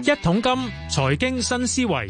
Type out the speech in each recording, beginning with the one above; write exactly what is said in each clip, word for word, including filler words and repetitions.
一桶金財經新思維，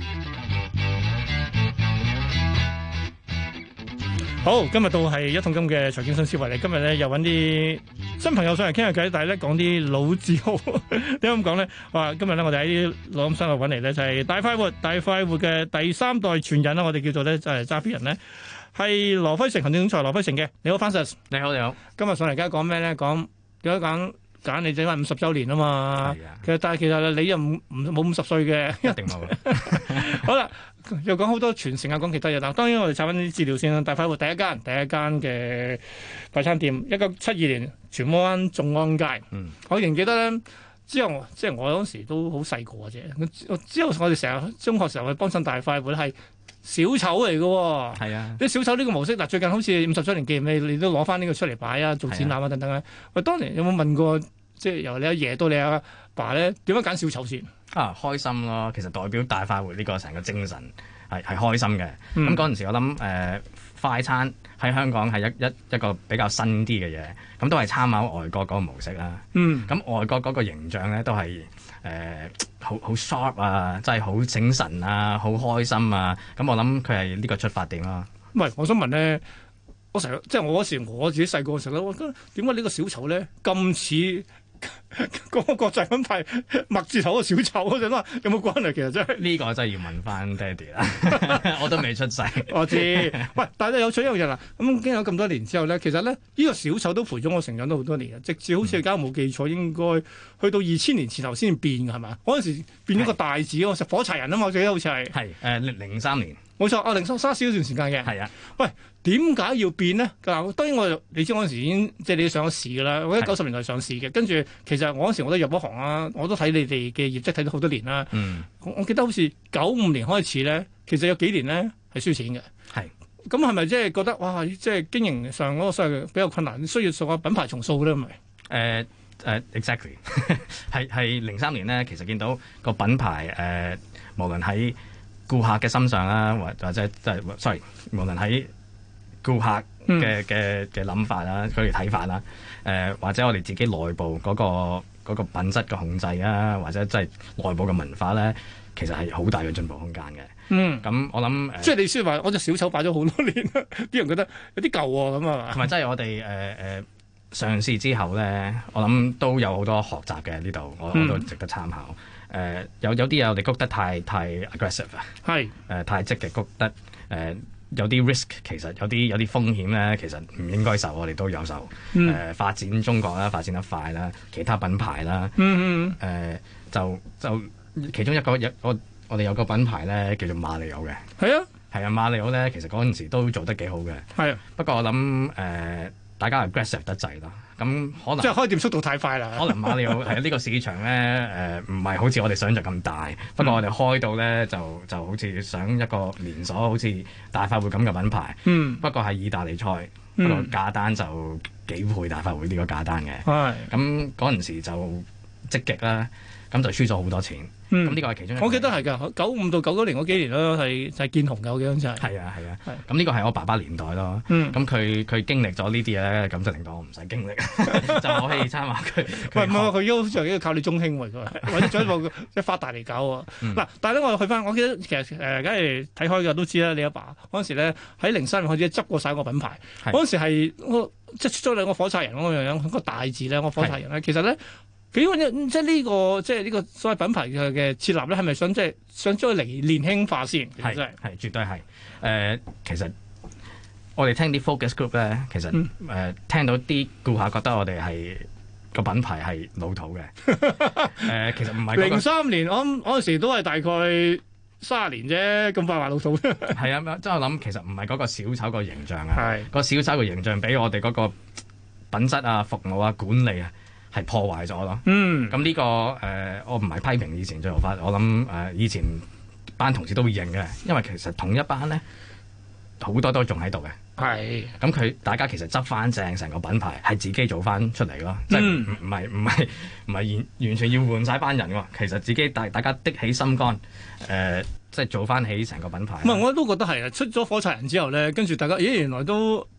好，今日到係一桶金嘅財經新思維嚟。今日咧又揾啲新朋友上嚟傾下偈，但係咧講啲老字號。點解咁講咧？哇！今日咧我哋喺啲錄音室度揾嚟咧，就係大快活、大快活嘅第三代傳人啦。我哋叫做咧就係揸 fit 人咧，係羅輝承行政總裁羅輝承嘅。你好，Francis。 你好，你好。 今日上嚟而家講咩咧？講點解講？揀你整翻五十週年啊嘛，其實但係其實你又唔唔冇五十歲嘅， 一定冇。 好啦，又講好多傳承啊，講其他嘢啦。當然我哋查翻啲資料先啦。大快活第一間第一間嘅快餐店，一九七二年荃灣眾安街。嗯，我仍記得咧，之後即係我嗰時都好細個嘅啫。之後我哋成日中學時候去幫襯大快活係小丑嚟嘅喎。係啊，啲小丑呢個模式嗱，最近好似五十週年紀念你你都攞翻呢個出嚟擺啊，做展覽啊等等啊。喂，當年有冇問過？即係由你阿爺到你阿爸咧，點樣揀小丑先？ 啊，開心咯！其實代表大快活呢個成個精神係係開心嘅。咁嗰陣時我諗誒、呃、快餐喺香港係一一一個比較新啲嘅嘢，咁都係參考外國嗰個模式啦。嗯，咁外國嗰個形象咧都係誒好好 sharp 啊，真係好醒神啊，好開心啊。咁我諗佢係呢個出發點咯。 唔係，我想問咧。我成日即係我嗰時我自己細個嘅時候咧，我覺得點解呢個小丑咧咁似嗰個國際品牌墨字頭嘅小丑嗰陣啦？有冇關係？其實真係呢個真係要問翻爹哋啦，我都未出世。我知， 喂，但係有趣一樣嘢啦。咁經過咁多年之後咧，其實咧呢、呢個小丑都陪咗我成長咗好多年嘅，直至好似而家冇記錯，應該去到二千年前後先變嘅係嘛？嗰陣時變咗個大字喎，食火柴人啊嘛，我記得好似係係誒零三年。 冇錯，啊零三沙士嗰段時間嘅。係啊， 喂，點解要變呢？嗱，當然我你知嗰陣時已經即係你上咗市㗎啦，我喺九十年代上市嘅，跟住其實我嗰時我都入咗行啦，我都睇你哋嘅業績睇咗好多年啦。嗯，我記得好似九五年開始咧，其實有幾年咧係輸錢嘅。係，咁係咪即係覺得哇，即係經營上嗰個所謂比較困難，需要做個品牌重塑咧？咪誒誒，exactly 係係零三年咧，其實見到個品牌誒、呃，無論喺顧客嘅心上啦，或或者即係，sorry，無論喺顧客嘅嘅嘅諗法啦，佢哋睇法啦，誒、呃、或者我哋自己內部嗰、嗰個嗰個品質嘅控制啊，或者即係內部嘅文化咧，其實係好大嘅進步空間嘅。嗯，咁我諗， 即係你先話我隻小丑擺咗好多年啦，啲人覺得有啲舊喎咁啊嘛。 同埋即係我哋誒誒上市之後咧，我諗都有好多學習嘅呢度，我我都值得參考。誒、呃、有有啲嘢我哋谷得太太 aggressive 啊，係誒、呃、太積極谷得誒、呃、有啲 risk， 其實有啲有啲風險咧，其實唔應該受，我哋都有受。誒、嗯呃、發展中國啦，發展得快啦，其他品牌啦，嗯嗯誒、呃、就就其中一個有我我哋有個品牌咧叫做馬里奧嘅，係啊係啊馬里奧咧，其實嗰陣時都做得幾好嘅，係啊。不過我諗誒、呃、大家 aggressive 得滯啦。咁可能即係開店速度太快啦。 可能馬里奧係呢個市場咧，誒唔係好似我哋想像咁大。不過我哋開到咧就就好似想一個連鎖，好似大快活咁嘅品牌。嗯。不過係意大利菜，嗯、不過價單就幾倍大快活呢個價單嘅。係。咁嗰陣時就積極啦，咁就輸咗好多錢。咁呢個係其中一個。 我記得係㗎，九五到九九年嗰幾年咯，係就係見紅嘅，我記得就係。 係啊係啊。係。咁呢個係我爸爸年代咯。咁佢佢經歷咗呢啲嘢咧，咁就令到我唔使經歷，就我可以參考佢。 喂，唔係佢而家好似靠你中興喎，佢或者進一步即係發大嚟搞喎。嗱、嗯，但係咧我去翻，我記得其實誒，梗係睇開嘅都知啦。你阿爸嗰陣時咧喺零三年開始執過晒個品牌，嗰陣時係我即係出咗兩個火柴人嗰樣樣，個大字咧，個火柴人咧，其實咧。幾即係呢個即係呢個所謂品牌嘅嘅設立咧，係咪想即係想將佢嚟年輕化先？ 係係絕對係誒、呃，其實我哋聽啲 focus group 咧，其實誒、嗯呃、聽到啲顧客覺得我哋係個品牌係老土嘅誒、呃，其實唔係零三年，我諗嗰陣時都係大概卅年啫，咁快話老土。 係啊，即係我諗其實唔係嗰個小丑個形象啊，個小丑個形象俾我哋嗰個品質啊、服務啊、管理啊。係破壞咗咯，嗯，咁呢、這個誒、呃，我唔係批評以前做法，我諗誒、呃、以前班同事都會認嘅，因為其實同一班咧好多都仲喺度嘅，係，咁佢大家其實執翻正成個品牌係自己做翻出嚟咯，即係唔唔係唔係唔係完完全要換晒班人喎，其實自己大大家的起心肝，誒、呃，即係做翻起成個品牌。 唔係，我都覺得係啊，出咗火柴人之後咧，跟住大家咦原來都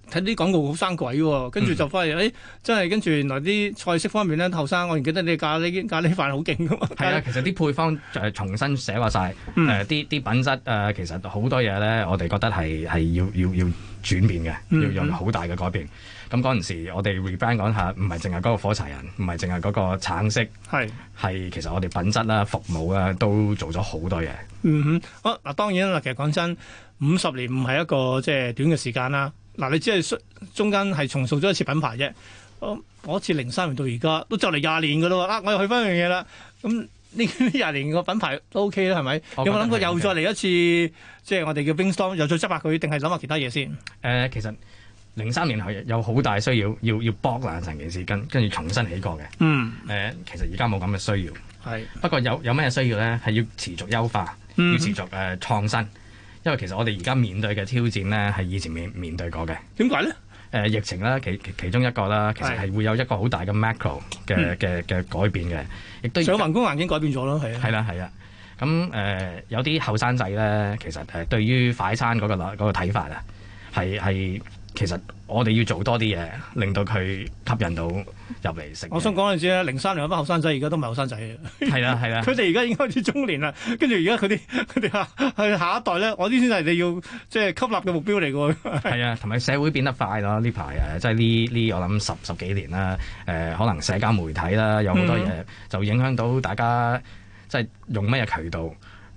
睇啲廣告好生鬼喎，跟住就發現誒、嗯哎、真係跟住原來啲菜式方面咧，後生我唔記得你咖喱咖喱飯好勁噶嘛。係啊， 其實啲配方誒重新寫話晒，誒啲啲品質誒、呃、其實好多嘢咧，我哋覺得係係要要要轉變嘅，要有好大嘅改變。咁嗰陣時我哋 rebrand 講下，唔係淨係嗰個火柴人，唔係淨係嗰個橙色，係係其實我哋品質啦、服務啦都做咗好多嘢。 嗯哼，好嗱，當然啦，其實講真，五十年唔係一個即係短嘅時間啦。嗱，你只係中間係重塑咗一次品牌啫。我我似零三年到而家都就嚟廿年噶啦喎，啊，我又去翻樣嘢啦。咁呢廿年個品牌都 OK 啦，係咪？有冇諗過又再嚟一次，即係我哋叫 brainstorm，又再執下佢，定係諗下其他嘢先？誒、 呃，其實零三年係有好大需要，要要剝爛成件事，跟跟住重新起過嘅。嗯。誒、呃，其實而家冇咁嘅需要。係。不過有有咩需要咧？係要持續優化，嗯、要持續誒、呃、創新。因為其實我哋而家面對嘅挑戰咧，係以前未面對過嘅。點解咧？誒、呃、疫情啦，其其中一個啦，其實係會有一個好大嘅 macro 嘅嘅嘅改變嘅，亦都上宏觀環境改變咗咯，係啊。 係啦係啦，咁誒、呃、有啲後生仔咧，其實誒對於快餐嗰、那個嗰、那個睇法啊，係係其實我哋要做多啲嘢，令到佢吸引到入嚟食。我想講陣時咧，零三年嗰班後生仔而家都唔係後生仔嘅。係啦係啦，佢哋而家已經開始中年啦，跟住而家佢啲佢哋下係下一代咧，我啲先係你要即係吸納嘅目標嚟嘅喎。係啊，同埋社會變得快咯，呢排誒即係呢呢我諗十十幾年啦，誒、呃、可能社交媒體啦，有好多嘢就影響到大家即係用咩渠道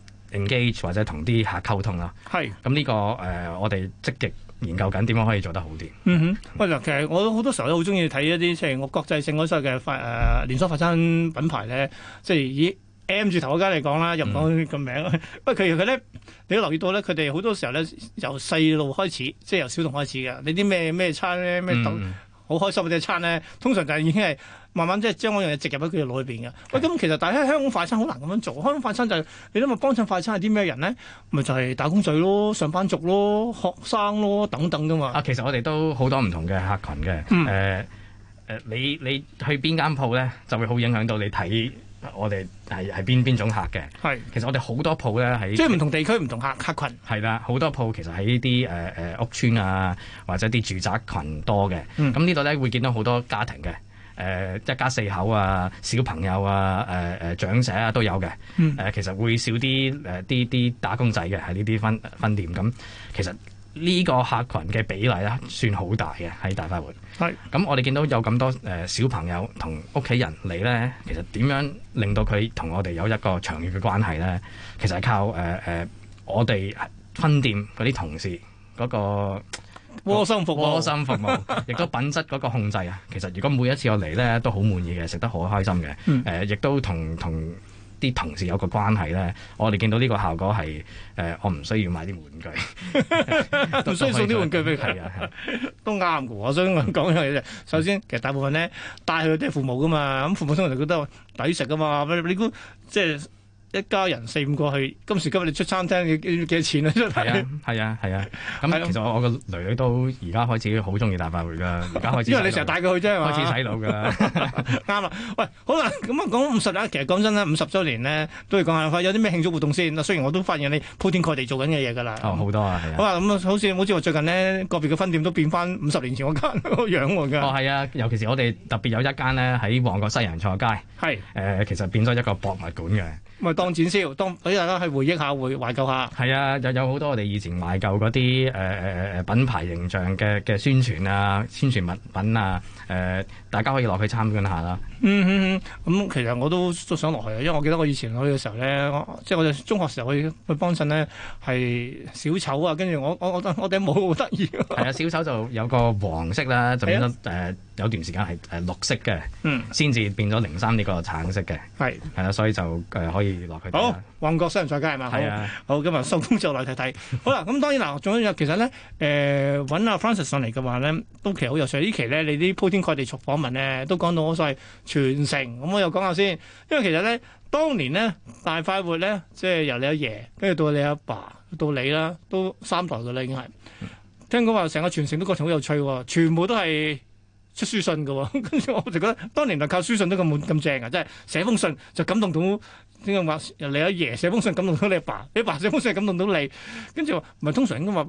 engage 或者同啲客溝通啦。係咁呢個誒、呃，我哋積極研究緊點樣可以做得好啲。嗯哼，喂，嗱，其實我好多時候都好中意睇一啲即係我國際性嗰啲嘅快誒連鎖快餐品牌咧，即係以 M 字頭嗰間嚟講啦，入唔講個名。不過其實佢咧，你都留意到咧，佢哋好多時候咧由細路開始，即係由小童開始嘅。你啲咩咩餐咧，咩豆好開心嗰啲餐咧，通常就係已經係慢慢即係將嗰樣嘢植入喺佢嘅腦裏邊嘅。喂，咁其實但係喺香港快餐好難咁樣做。香港快餐就係、是、你諗下幫襯快餐係啲咩人咧？咪就係、是、打工仔咯、上班族咯、學生咯等等噶嘛。啊，其實我哋都好多唔同嘅客群嘅。誒、嗯、誒、呃呃，你你去邊間鋪咧，就會好影響到你睇我哋係係邊邊種客嘅。係，其實我哋好多鋪咧喺即係唔同地區唔同客客群。係啦，好多鋪其實喺啲誒誒屋村啊，或者啲住宅群多嘅。咁呢度咧會見到好多家庭嘅。誒、呃、一家四口啊，小朋友啊，誒、呃、誒長者啊都有嘅。誒、嗯呃、其實會少啲誒啲啲打工仔嘅喺呢啲分分店。咁其實呢個客群嘅比例咧算好大嘅喺大快活。係。咁我哋見到有咁多誒、呃、小朋友同屋企人嚟咧，其實點樣令到佢同我哋有一個長遠嘅關係咧？其實係靠誒誒、呃呃、我哋分店嗰啲同事嗰、那個。窩心服務，窩心服務，亦都品質嗰個控制啊！其實如果每一次我嚟咧，都好滿意嘅，食得好開心嘅。誒、嗯呃，亦都同同啲同事有個關係咧。我哋見到呢個效果係誒、呃，我唔需要買啲玩具，唔需要送啲玩具俾佢。係啊，都啱嘅。我想講一樣嘢啫。首先，其實大部分咧帶佢都係父母噶嘛，咁父母通常就覺得抵食噶嘛。你估即係？一家人四五個去，今時今日你出餐廳要幾多錢啊？係啊，係啊，係啊。咁其實我我個女女都而家開始好中意大快活㗎，而家開始。因為你成日帶佢去啫嘛。開始洗腦㗎啦。啱啦。喂，好啦，咁啊講五十啦，其實講真啦，五十週年咧都要講下，有啲咩慶祝活動先？雖然我都發現你鋪天蓋地做緊嘅嘢㗎啦。哦，好多啊，係啊。好啊，咁啊，好似好似話最近呢個別嘅分店都變翻五十年前嗰間個樣喎㗎。哦，係啊，尤其是我哋特別有一間咧喺旺角西洋菜街。係。誒、呃，其實變咗一個博物館嘅。咪當展銷，當俾大家去回憶下、回懷舊下。係啊，有有好多我哋以前懷舊嗰啲誒誒誒品牌形象嘅嘅宣傳啊、宣傳物品啊，誒、呃、大家可以落去參觀下啦。嗯嗯嗯，咁、嗯、其實我都都想落去啊，因為我記得我以前去嘅時候咧，即係我哋中學時候去去幫襯咧，係小丑啊，跟住我我我我頂帽好得意。係啊，小丑就有個黃色啦，就變咗誒、呃、有段時間係誒綠色嘅，嗯，先至變咗零三呢個橙色嘅。係係啦，所以就誒、呃、可以。落去好，旺角西洋菜街係嘛？係啊，好，今日收工之後嚟睇睇。好啦，咁當然嗱，仲有其實咧，誒揾阿 Francis 上嚟嘅話咧，都其實好有趣。呢期咧，你啲鋪天蓋地訪問咧，都講到我所謂傳承。咁我又講下先，因為其實咧，當年咧大快活咧，即係由你阿爺，跟住到你阿爸，爸，到你啦，都三代嘅啦，已經係。聽講話成個傳承都過程好有趣喎，全部都係出書信嘅，跟住我就覺得當年就靠書信都咁滿咁正啊！即係寫封信就感動到點解話你阿爺寫封信感動到你阿爸，你阿爸寫封信感動到你，跟住話唔係通常應該話喂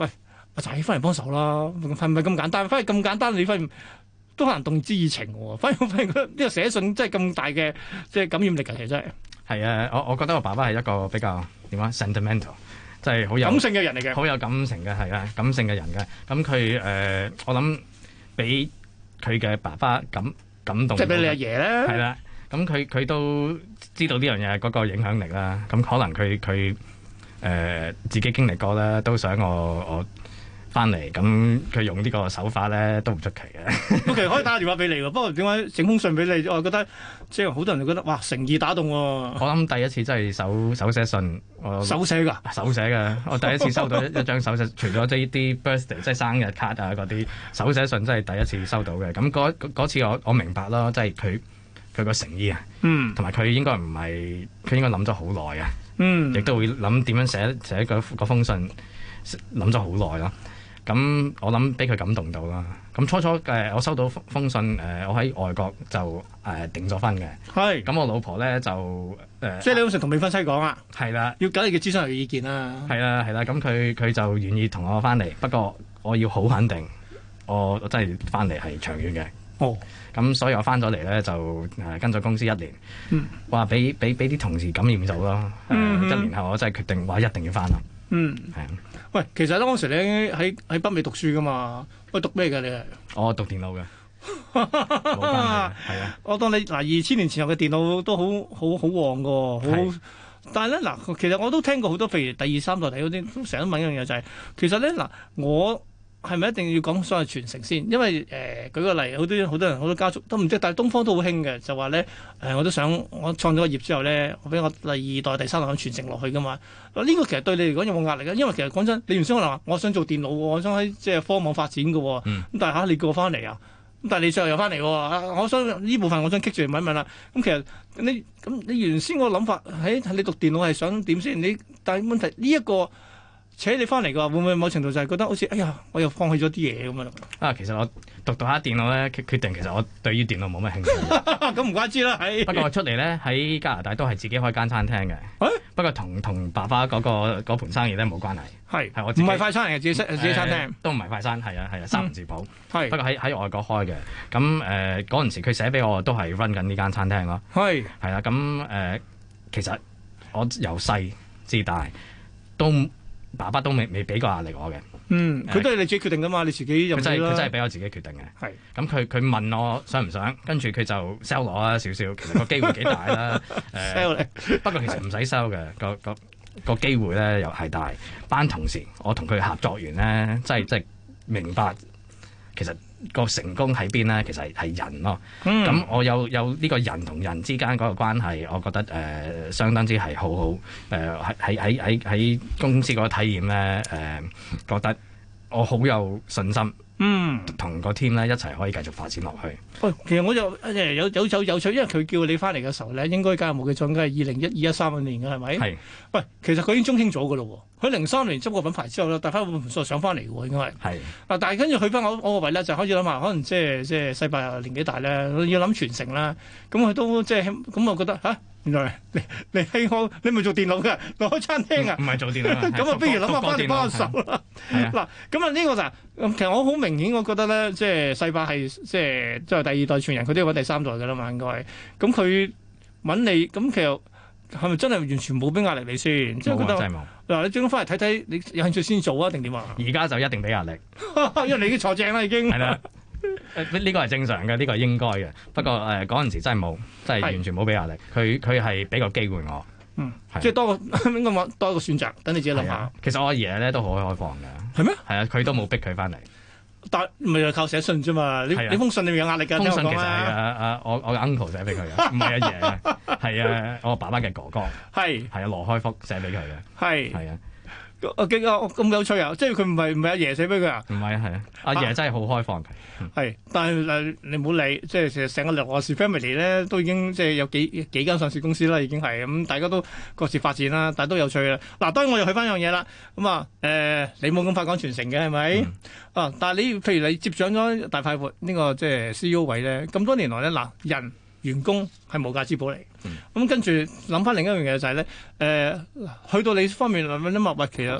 阿仔翻嚟幫手啦，係咪咁簡單？反而咁簡單，你發現都可能動之以情喎。反而我發現呢個寫信真係咁大嘅即係感染力嘅，其實真係。係啊，我我覺得我爸爸係一個比較點講 sentimental，即係好有感性嘅人嚟嘅， 好有感情嘅係啊，感性嘅人嘅。咁佢誒，我諗俾佢嘅爸爸感感動， 即係俾你阿爺咧。 係啦，咁佢佢都知道呢樣嘢嗰個影響力啦。咁可能佢佢誒自己經歷過咧，都想我我。翻嚟咁，佢用呢個手法咧都唔出奇嘅。 我其實可以打個電話俾你喎，不過點解整封信俾你？我覺得即係好多人都覺得哇誠意打動喎。我諗第一次真係手手寫信，我手寫㗎， 手寫嘅。我第一次收到一一張手寫，除咗呢啲 birthday 即係生日卡啊嗰啲手寫信，真係第一次收到嘅。咁嗰嗰次我我明白咯，即係佢佢個誠意啊，嗯，同埋佢應該唔係佢應該諗咗好耐啊，嗯，亦都會諗點樣寫寫嗰封信，諗咗好耐咯。咁我諗俾佢感動到啦。咁初初誒、呃、我收到封信誒、呃，我喺外國就誒、呃、訂咗婚嘅。係。咁我老婆咧就誒，呃、即係你嗰時同未婚妻講啊？ 係啦。 要緊你嘅諮詢人嘅意見啦。 係啦係啦。咁佢佢就願意同我翻嚟，不過我要好肯定，我我真係翻嚟係長遠嘅。哦。咁所以我翻咗嚟咧就誒、呃、跟咗公司一年。嗯。話俾俾俾啲同事感染咗咯。誒、嗯呃，一年後我真係決定話一定要翻啦。 嗯。係啊。喂，其實當時咧喺喺北美讀書噶嘛，喂讀咩㗎你係？ 我讀電腦嘅，冇關係，係啊。 我當你嗱二千年前後嘅電腦都好好好旺㗎，好。但係咧嗱，其實我都聽過好多，譬如第二三代睇嗰啲，都成日都問一樣嘢就係、是，其實咧嗱，我係咪一定要講所謂傳承先？因為誒、呃、舉個例，好多好多人好多家族都唔知，但係東方都好興嘅，就話咧誒，我都想我創咗個業之後咧，我俾我第二代、第三代咁傳承落去噶嘛。呢、這個其實對你嚟講有冇壓力啊？因為其實講真，你原先可能話我想做電腦，我想喺即係科網發展嘅，咁、嗯、但係嚇、啊、你叫我翻嚟啊，咁但係你最後又翻嚟喎，我想呢部分我想棘住嚟問一問啦。咁其實你咁你原先個諗法喺、哎、你讀電腦係想點先？你但係問題呢一、這個。扯你翻嚟嘅話，會唔會某程度就係覺得好似，哎呀，我又放棄咗啲嘢咁樣？啊， 其實我讀讀下電腦咧，決決定其實我對於電腦冇乜興趣。 咁唔怪之啦，係。 不過我出嚟咧喺加拿大都係自己開間餐廳嘅。欸、不過同同爸爸嗰、嗰個嗰盤生意咧冇關係。係係我自己。唔係快餐嚟嘅，自己自己餐廳。呃、都唔係快餐，係啊係啊，三文治鋪。係、嗯。不過喺喺外國開嘅，咁誒嗰陣時佢寫俾我都係 run 緊呢間餐廳咯。係。係啦，咁誒、呃、其實我由細至大都。爸爸都未未俾過壓力我嘅，嗯，佢都係你自己決定噶嘛，你自己又佢真係佢真係俾我自己決定嘅，係。咁佢佢問我想唔想，跟住佢就 sell 我啦少少，其實個機會幾大啦，誒、呃，不過其實唔使 sell 嘅，個個個機會咧又係大。班同事我同佢合作完咧，真係真係明白其實。個成功喺邊咧？其實係人咯。咁、嗯、我有有呢個人同人之間嗰個關係，我覺得誒、呃、相當之係好好。誒喺喺喺喺公司嗰個體驗咧，誒、呃、覺得我好有信心。嗯，同個 team 咧一齊可以繼續發展落去。喂、哦，其實我就誒有有有有趣，因為佢叫你翻嚟嘅時候咧，應該假如冇記錯，應該係二零一二一三年嘅係咪？係。喂，其實佢已經中興咗㗎咯喎。佢零三年執個品牌之後咧，帶翻個盤數上翻嚟嘅喎，應該係。係。嗱，但係跟住去翻我我個位咧，就開始諗下，可能即係即係世伯又年紀大咧，要諗傳承啦。咁佢都即係咁，我覺得嚇。原來你你係我你咪做電腦嘅，開餐廳啊？唔係做電腦，咁啊，不如諗下翻嚟幫手啦。嗱，咁啊呢個就其實我好明顯，我覺得咧，即係世伯係即係即係第二代傳人，佢都要揾第三代嘅啦嘛，應該。咁佢揾你，咁其實係咪真係完全冇俾壓力你先？即係覺得嗱，你最終翻嚟睇睇，你有興趣先做啊，定點啊？而家就一定俾壓力，因為你已經坐正啦，已經。係啦。誒呢個係正常嘅，呢、這個係應該嘅。不過誒嗰陣時真係冇，真係完全冇俾壓力。佢佢係俾個機會我，嗯，即係多個應該話多一個選擇，等你自己諗下。其實我阿爺咧都好開放嘅，係咩？係啊，佢都冇逼佢翻嚟。但咪就靠寫信啫嘛？你你封信裏面有壓力㗎。封信其實係啊啊我我嘅 uncle 寫俾佢嘅，唔係阿爺嘅，係啊我爸爸嘅哥哥，係係啊羅開福寫俾佢嘅，係係啊。我記得咁有趣啊！即係佢唔係唔係阿爺寫俾佢啊？唔係啊，係啊，阿爺真係好開放嘅。係、嗯，但係誒你唔好理，即係成成個羅氏 family 咧，都已經即係有幾幾間上市公司啦，已經係咁、嗯，大家都各自發展啦，但係都有趣啦。嗱，當然我又去翻樣嘢啦。咁啊誒，你冇咁快講傳承嘅係咪？嗯、啊，但係你譬如你接掌咗大快活呢個即係 C E O 位咧，咁多年來咧嗱人。員工係無價之寶嚟，咁、嗯、跟住諗翻另一樣嘢就係、是、咧，誒、呃、去到你方面諗諗物物，其實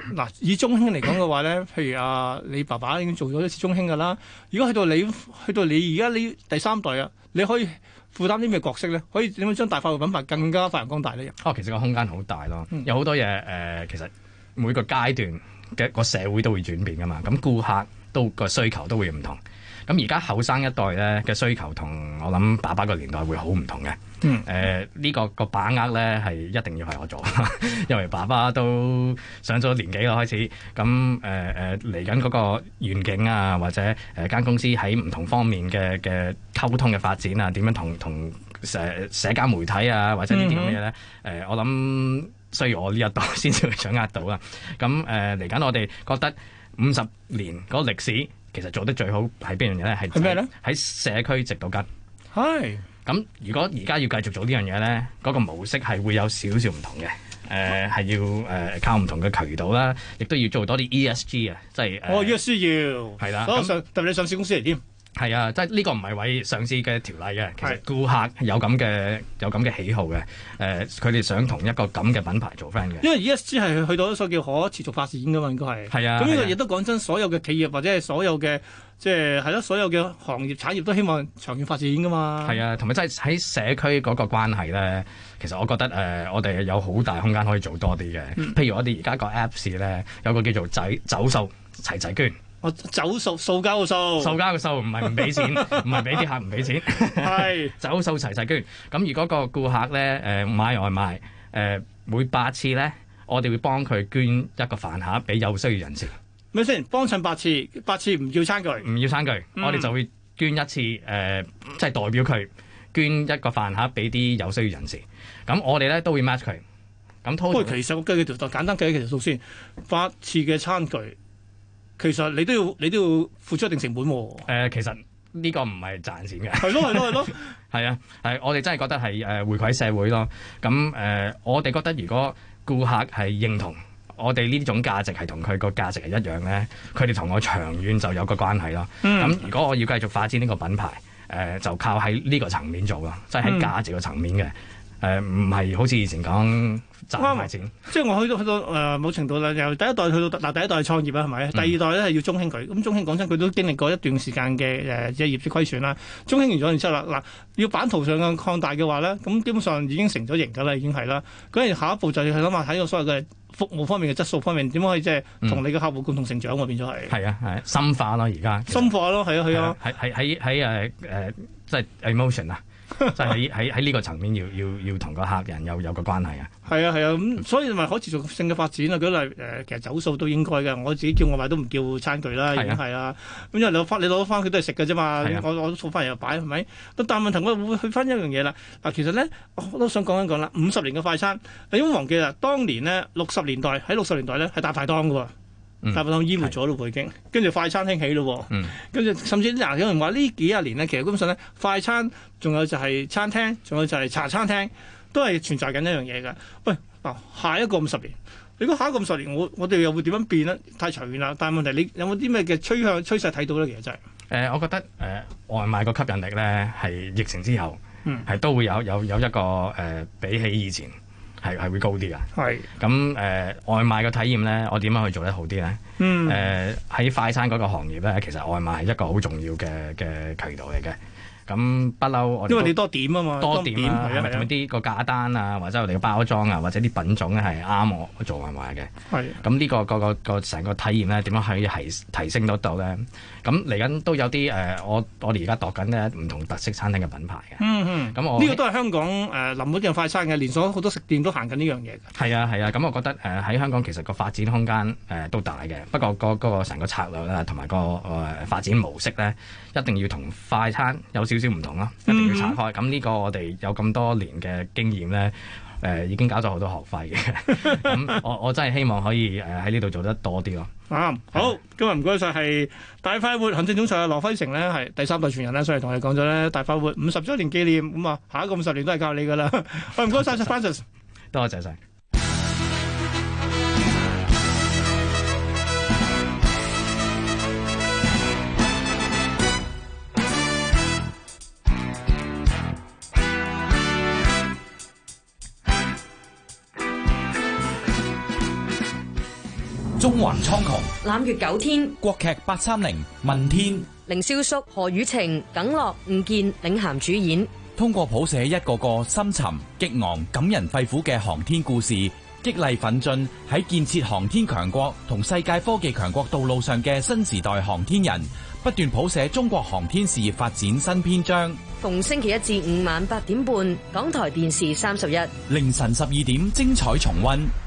嗱，以中興嚟講嘅話咧，譬如啊，你爸爸已經做咗一次中興㗎啦。如果去到你去到你而家你第三代啊，你可以負擔啲咩角色咧？可以點樣將大快活品牌更加發揚光大呢？ 哦，其實個空間好大咯， 嗯、有好多嘢誒、呃，其實每個階段嘅個社會都會轉變㗎嘛。咁顧客都個需求都會唔同。咁而家後生一代咧嘅需求同我諗爸爸個年代會好唔同嘅。嗯。誒、呃，呢、這個個把握咧係一定要係我做，因為爸爸都上咗年紀啦開始。咁誒誒嚟緊嗰個願景啊，或者誒間、呃、公司喺唔同方面嘅嘅溝通嘅發展啊，點樣同同社社交媒體啊，或者呢啲咁嘅嘢咧？誒、嗯呃，我諗需要我呢一代先至會掌握到啦。咁誒嚟緊我哋覺得五十年嗰個歷史。其實做得最好係邊樣嘢咧？係咩咧？喺社區植到根。係。咁如果而家要繼續做呢樣嘢咧，嗰、那個模式係會有少少唔同嘅。誒、呃、係要誒、呃、靠唔同嘅渠道啦，亦都要做多啲 E S G 啊，即係。哦 ，E S G 要。係啦。咁上特別你上市公司嚟添。係啊，即係呢個唔係為上市嘅條例嘅，其實顧客有咁嘅有咁嘅喜好嘅，誒、呃，佢哋想同一個咁嘅品牌做 friend 嘅。因為 E S G 係去到一個叫可持續發展噶嘛，應該係。係啊。咁呢個亦都講真，所有嘅企業或者係所有嘅即係係咯，所有嘅行業產業都希望長遠發展噶嘛。係啊，同埋即係喺社區嗰個關係咧，其實我覺得誒、呃，我哋有好大空間可以做多啲嘅。嗯、譬如我哋而家個 Apps 咧，有個叫做仔走數齊齊捐。我走數掃交個數，掃交個數唔係唔俾錢，唔係俾啲客唔俾錢，係走數齊齊捐。咁如果個顧客咧誒、呃、買外賣誒、呃、每八次咧，我哋會幫佢捐一個飯盒俾有需要人士。咪先幫襯八次，八次唔要餐具，唔要餐具，嗯、我哋就會捐一次誒，即、呃、係、就是、代表佢捐一個飯盒俾啲有需要人士。咁我哋咧都會 match 佢。咁不過其實我計幾條數，簡單計幾條數先，八次嘅餐具。其實你都要你都要付出一定成本喎、啊。誒、呃，其實呢個唔係賺錢嘅。係咯係咯係咯。係啊，係我哋真係覺得係誒回饋社會咯。咁誒、呃，我哋覺得如果顧客係認同我哋呢種價值係同佢個價值係一樣咧，佢哋同我長遠就有個關係咯。咁、嗯、如果我要繼續發展呢個品牌，誒、呃、就靠喺呢個層面做咯，即係喺價值嘅層面嘅。誒唔係好似以前講賺快錢，即係我去到去到誒某程度啦，由第一代去到嗱第一代係創業啦，係咪？嗯、第二代咧係要中興佢，咁中興講真佢都經歷過一段時間嘅誒即係業績虧損啦。中興完咗然之後啦，嗱要版圖上嘅擴大嘅話咧，咁基本上已經成咗型㗎啦，已經係啦。咁下一步就要去諗下睇個所謂嘅服務方面嘅質素方面點可以即係同你嘅客戶共同成長喎，變咗係。係啊係深化咯而家。深化咯係啊係啊。喺喺喺喺誒誒即係 emotion 啊。即係喺喺喺呢個層面要要要同個客人有有個關係啊！係啊係啊，咁、嗯、所以咪可持續性嘅發展啊！舉例誒，其實走數都應該嘅。我自己叫外賣都唔叫餐具啦，已經係啊。咁因為你攞翻你攞翻佢都係食嘅啫嘛。我我都掃翻嚟又擺係咪？但係問題我會去翻一樣嘢啦。嗱，其實咧我都想講一講啦。五十年嘅快餐，你唔好忘記啦。當年呢，六十年代喺六十年代咧係大排檔嘅喎。大排檔淹沒咗咯，已經跟住快餐興起咯，跟住、嗯、甚至嗱有人話呢幾廿年咧，其實基本上咧快餐仲有就係餐廳，仲有就係茶餐廳，都係存在緊一樣嘢㗎。喂，嗱下一個五十年，你估下一個五十年，我我哋又會點樣變咧？太長遠啦。但係問題，你有冇啲咩嘅趨向趨勢睇到咧？其實真係誒，我覺得誒、呃、外賣個吸引力咧係疫情之後係、嗯、都會有有有一個誒、呃、比起以前。係係會高啲㗎，係咁誒外賣嘅體驗咧，我點樣去做得好啲咧？嗯，誒喺、呃、快餐嗰個行業咧，其實外賣係一個好重要嘅嘅渠道嚟嘅。咁不嬲，我因為你多點啊嘛，多點啊，係咪同啲個價單啊，或者我哋嘅包裝啊，或者啲品種咧係啱我做外賣嘅。係咁呢個個個個成個體驗咧，點樣可以提提升得到咧？咁嚟緊都有啲誒、呃，我我哋而家度緊咧唔同特色餐廳嘅品牌嘅。嗯嗯，咁我呢個都係香港誒臨嗰啲快餐嘅連鎖，好多食店都行緊呢樣嘢嘅。係啊係啊，咁、啊、我覺得誒喺、呃、香港其實個發展空間誒、呃、都大嘅，不過、那個嗰、那個成個策略咧同埋個誒、呃、發展模式咧，一定要同快餐有少少唔同咯，一定要拆開。咁呢、嗯、個我哋有咁多年嘅經驗咧。誒、呃、已經搞咗好多學費嘅，咁我我真係希望可以誒喺呢度做得多啲咯。啱、嗯，好，今日唔該晒係大快活行政總裁羅輝成咧，係第三代傳人咧，所以同你講咗咧大快活五十週年紀念，咁啊下一個五十年都係靠你噶啦。喂，唔該晒 Francis，多謝晒。 中環蒼穹， 攬月九天， 國劇八三零問天， 凌瀟肅、何雨晴、耿樂、吳健領銜主演。 通過譜寫一個個深沉、激昂、感人肺腑嘅航天故事，激勵奮進喺建設航天強國同世界科技強國道路上嘅新時代航天人，不斷譜寫中國航天事業發展新篇章。 逢星期一至五晚八點半，港台電視三十一， 凌晨十二點精彩重溫。